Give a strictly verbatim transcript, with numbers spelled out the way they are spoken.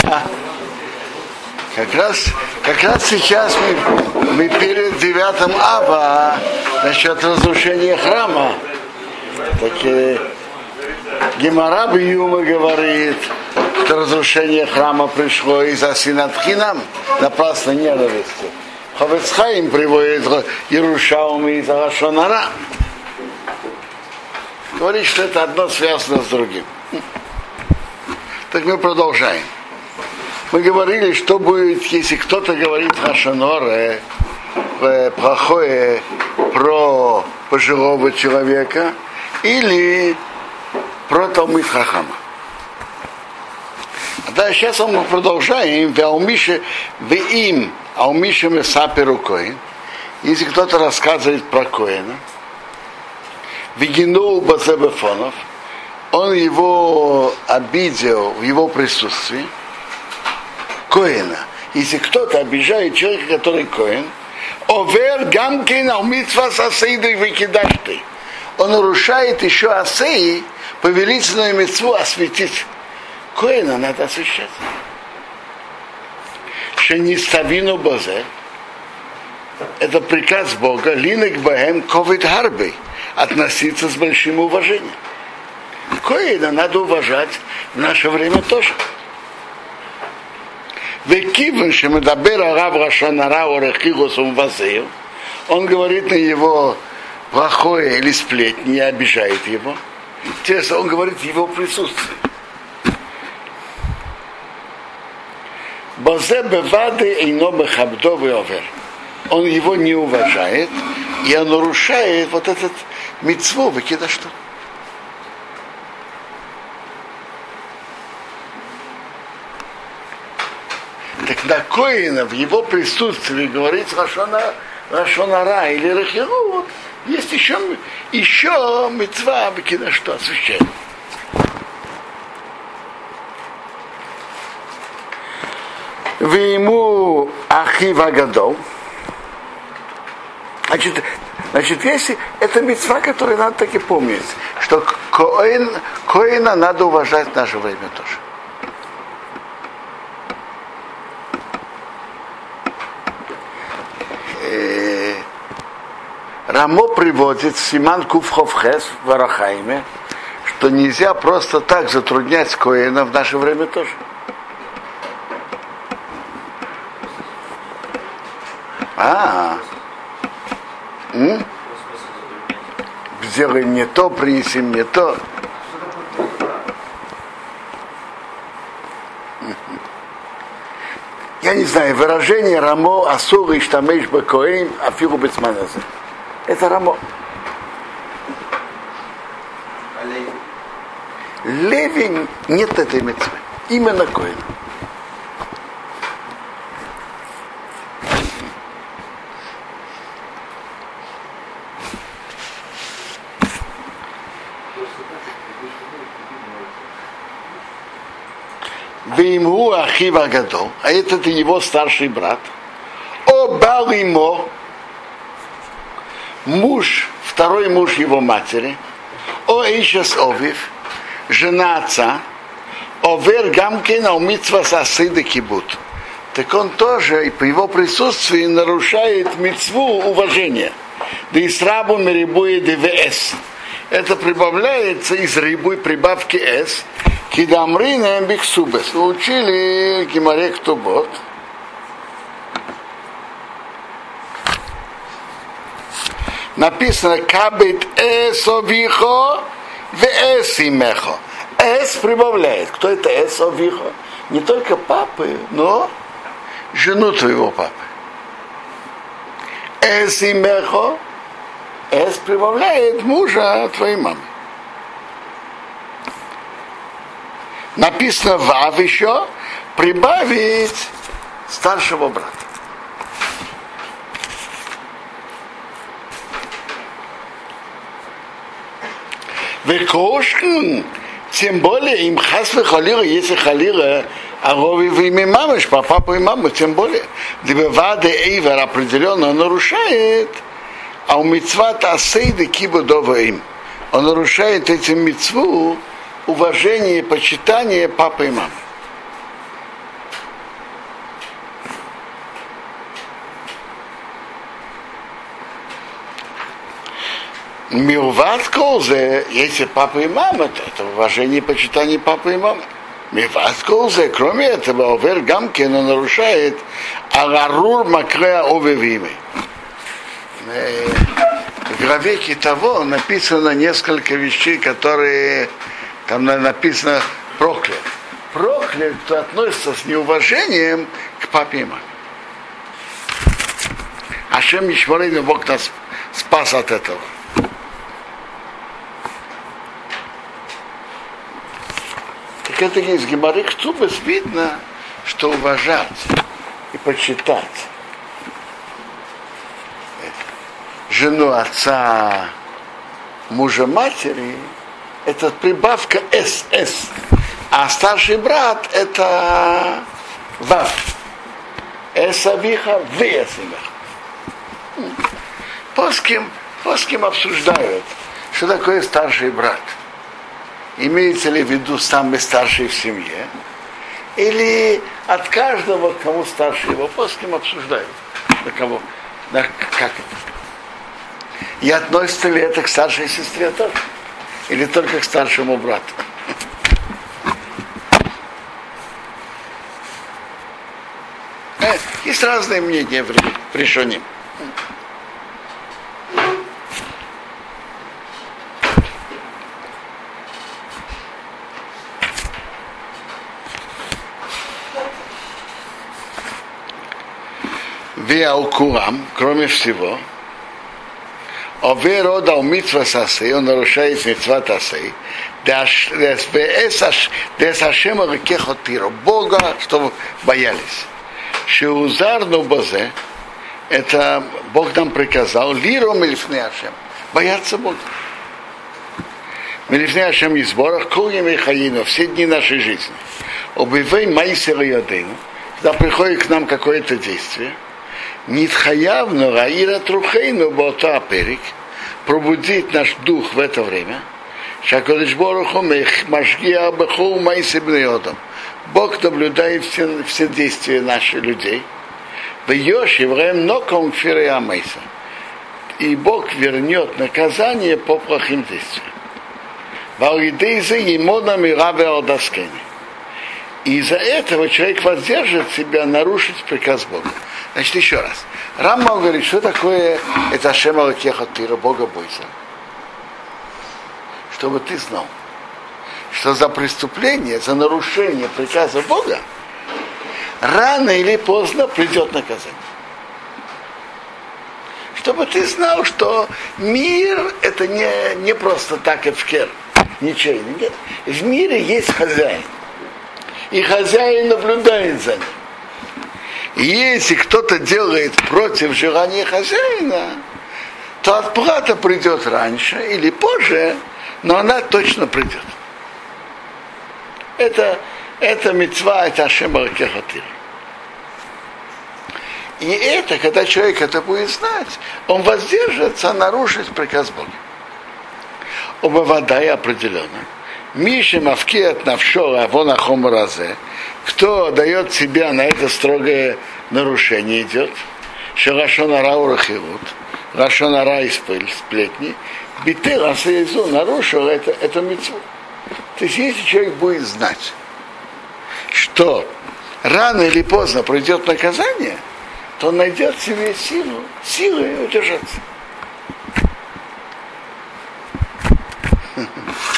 Как раз, как раз сейчас мы, мы перед девятым ава насчет разрушения храма. Так э, Гемара Бьюма говорит, что разрушение храма пришло из-за синатхинам, напрасно ненависти. Хафец Хаим приводит Иерушалми из-за лашон ара. Говорит, что это одно связано с другим. Так мы продолжаем. Мы говорили, что будет, если кто-то говорит лашон ара плохое про пожилого человека или про Талмид Хахама. Да, сейчас мы продолжаем. Им, а у Миши Месаперу Коэн. Если кто-то рассказывает про Коэна, Вигинул Базебефонов, он его обидел в его присутствии, Коэна. Если кто-то обижает человека, который Коэн, Овер Гамкин Алмитва Сасейду Викидашты. Он нарушает еще асеи, повелительную мицву осветить. Коэна надо освещать. Шениставину Бозе. Это приказ Бога. Линек Бахем Ковид Харбей. Относиться с большим уважением. Коэна надо уважать в наше время тоже. Векивен Шемедабера Рав Рашанара Орехигосум Вазею. Он говорит на его плохое или сплетни, не обижает его. Интересно, он говорит в его присутствии. Бозе бевады эйно бехабдовый овер. Он его не уважает, и он нарушает вот этот мицву, выкида что. Так на Коэна в его присутствии говорить лашон ара или рахирут, есть еще, еще мицва, выкида что, освящает. Вы ему ахива гадол. Значит, значит, если это мицва, которую надо таки помнить, что Коэн, Коэна надо уважать в наше время тоже. Э, Рамо приводит Симан Куфховхес в Арахайме, что нельзя просто так затруднять Коэна в наше время тоже. А, м? Сделай мне то, принеси мне то. Я не знаю, выражение Рамо Асур и Штамеш Бакоим Афиру Бецманазе. Это Рамо. Леви нет этой митцвы. Именно Коэн. Виму Ахива Гадол, а этот его старший брат. О Балимо, муж, второй муж его матери. О Ишес Овив, жена отца. Овер Гамкина у митцва сасыды кибут. Так он тоже и по его присутствии нарушает митцву уважения. Да и срабу мерибуе двс. Это прибавляется из рибуй прибавки с. Кидамрина биксубес. Учили Гемаре Ктубот. Написано кабит эсовихо веэсимехо. Эс прибавляет. Кто это эсовихо? Не только папы, но жену твоего папы. Эсимехо. Эс прибавляет мужа твоей мамы. Написано вав еще прибавить старшего брата. Векошкин, тем более им хасвы халира, если халира, а рови в имя мамы, по папу и маму, тем более. Дебеваде эйвер определенно нарушает, а у митцват асейды кибудова им. Он нарушает этим митцву уважение и почитание папы и мамы. Милват колзе, если папа и мама, то это уважение и почитание папы и мамы. Милват колзе, кроме этого, овер гамкен, он нарушает агарур макреа овевимы. В главе того написано несколько вещей, которые там написано проклят. Проклят, кто относится с неуважением к папе и маме. Ашем Ишмарейну, Бог нас спас от этого. Так это из Гемары Хцубес видно, что уважать и почитать жену отца, мужа матери, это прибавка эс эс, а старший брат это вав. Эсавиха, вы эсавиха. Поским, поским обсуждают, что такое старший брат. Имеется ли в виду самый старший в семье, или от каждого, кому старше его, поским обсуждают. На кого, на, как это? И относится ли это к старшей сестре тоже? Или только к старшему брату? Э, есть разные мнения в решении. Виаукурам, кроме всего, Овер отдал митцва сасей, он нарушает митцва тасей, дес Ашема рекехотиро, Бога, чтобы боялись. Шеузарну базе, это Бог нам приказал, лиро мелифне Ашем, бояться Бога. Мелифне Ашем из сборах, кругами хаину, все дни нашей жизни. Обивей майсер йодейну, когда приходит к нам какое-то действие, Нитхаявну раира трухейну бота перик, пробудить наш дух в это время. Шакодыш Боруху машгия баху майсибнеодом. Бог наблюдает все, все действия наших людей. В Йоши время ноком фирея майса. И Бог вернет наказание по плохим действиям. Валидейзе емона мираве алдаскени. И из-за этого человек воздержит себя нарушить приказ Бога. Значит, еще раз. Рамбам говорит, что такое это Ашем Элокехотиро, Бога бойся. Чтобы ты знал, что за преступление, за нарушение приказа Бога рано или поздно придет наказание. Чтобы ты знал, что мир это не, не просто так эфкер, ничейный. Нет. В мире есть хозяин. И хозяин наблюдает за ним. И если кто-то делает против желания хозяина, то отплата придет раньше или позже, но она точно придет. Это, это мицва, это Ашем Элокехотиро. И это, когда человек это будет знать, он воздержится нарушить приказ Бога. Оба вода и определенно. Миша мавкият навшо авона хомразе. Кто дает себя на это строгое нарушение идет. Шелашонара урахирут. Рашонара и сплетни. Битер асаизу нарушил это, это мицву. То есть если человек будет знать, что рано или поздно придет наказание, то он найдет в себе силу, силы удержаться.